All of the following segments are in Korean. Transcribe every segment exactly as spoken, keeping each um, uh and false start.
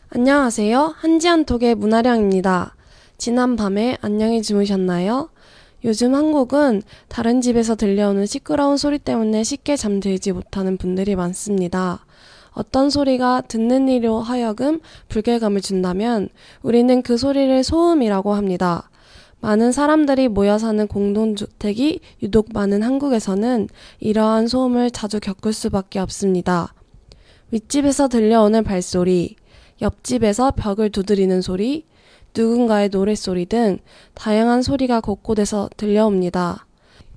안녕하세요. 한지한톡의 문아령입니다. 지난 밤에 안녕히 주무셨나요? 요즘 한국은 다른 집에서 들려오는 시끄러운 소리 때문에 쉽게 잠들지 못하는 분들이 많습니다. 어떤 소리가 듣는 이로 하여금 불쾌감을 준다면 우리는 그 소리를 소음이라고 합니다. 많은 사람들이 모여 사는 공동주택이 유독 많은 한국에서는 이러한 소음을 자주 겪을 수밖에 없습니다. 윗집에서 들려오는 발소리, 옆집에서 벽을 두드리는 소리, 누군가의 노랫소리 등 다양한 소리가 곳곳에서 들려옵니다.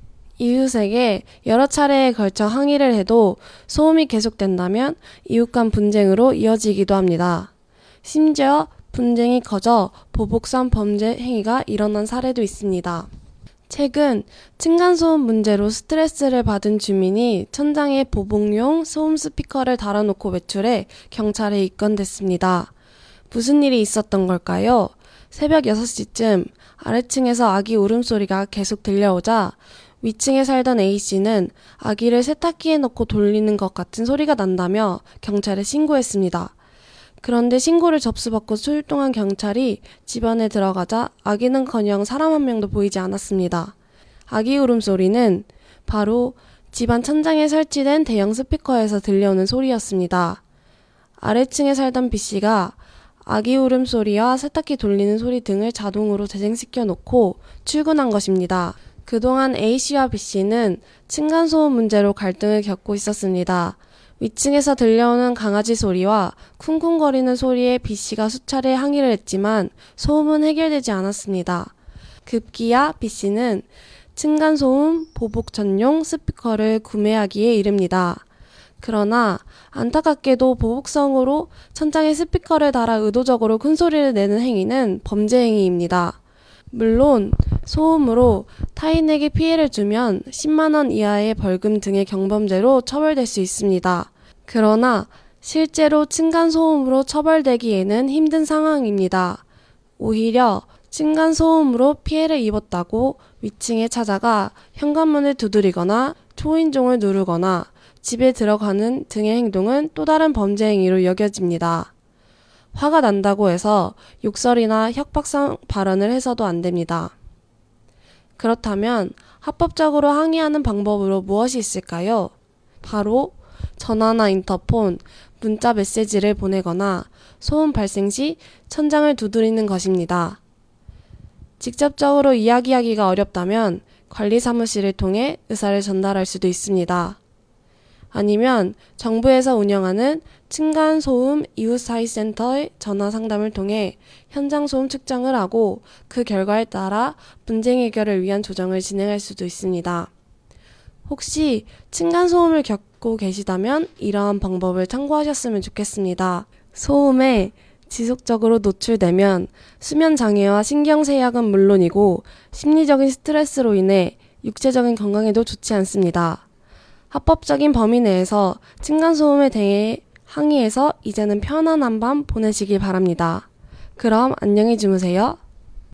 이웃에게 여러 차례에 걸쳐 항의를 해도 소음이 계속된다면 이웃 간 분쟁으로 이어지기도 합니다. 심지어 분쟁이 커져 보복성 범죄 행위가 일어난 사례도 있습니다. 최근 층간소음 문제로 스트레스를 받은 주민이 천장에 보복용 소음 스피커를 달아놓고 외출해 경찰에 입건됐습니다. 무슨 일이 있었던 걸까요? 새벽 여섯 시쯤 아래층에서 아기 울음소리가 계속 들려오자 위층에 살던 A씨는 아기를 세탁기에 넣고 돌리는 것 같은 소리가 난다며 경찰에 신고했습니다. 그런데 신고를 접수받고 출동한 경찰이 집안에 들어가자 아기는커녕 사람 한 명도 보이지 않았습니다. 아기 울음소리는 바로 집안 천장에 설치된 대형 스피커에서 들려오는 소리였습니다. 아래층에 살던 B씨가 아기 울음소리와 세탁기 돌리는 소리 등을 자동으로 재생시켜 놓고 출근한 것입니다. 그동안 A씨와 B씨는 층간소음 문제로 갈등을 겪고 있었습니다. 위층에서 들려오는 강아지 소리와 쿵쿵거리는 소리에 B씨가 수차례 항의를 했지만 소음은 해결되지 않았습니다. 급기야 B씨는 층간소음 보복 전용 스피커를 구매하기에 이릅니다. 그러나 안타깝게도 보복성으로 천장에 스피커를 달아 의도적으로 큰 소리를 내는 행위는 범죄 행위입니다. 물론 소음으로 타인에게 피해를 주면 십만 원 이하의 벌금 등의 경범죄로 처벌될 수 있습니다. 그러나 실제로 층간소음으로 처벌되기에는 힘든 상황입니다. 오히려 층간소음으로 피해를 입었다고 위층에 찾아가 현관문을 두드리거나 초인종을 누르거나 집에 들어가는 등의 행동은 또 다른 범죄 행위로 여겨집니다. 화가 난다고 해서 욕설이나 협박성 발언을 해서도 안 됩니다. 그렇다면 합법적으로 항의하는 방법으로 무엇이 있을까요? 바로 전화나 인터폰, 문자 메시지를 보내거나 소음 발생 시 천장을 두드리는 것입니다. 직접적으로 이야기하기가 어렵다면 관리사무실을 통해 의사를 전달할 수도 있습니다. 아니면 정부에서 운영하는 층간소음 이웃사회센터의 전화상담을 통해 현장소음 측정을 하고 그 결과에 따라 분쟁 해결을 위한 조정을 진행할 수도 있습니다. 혹시 층간소음을 겪고 계시다면 이러한 방법을 참고하셨으면 좋겠습니다. 소음에 지속적으로 노출되면 수면장애와 신경쇠약은 물론이고 심리적인 스트레스로 인해 육체적인 건강에도 좋지 않습니다. 합법적인 범위 내에서 층간소음에 대해 항의해서 이제는 편안한 밤 보내시길 바랍니다. 그럼 안녕히 주무세요.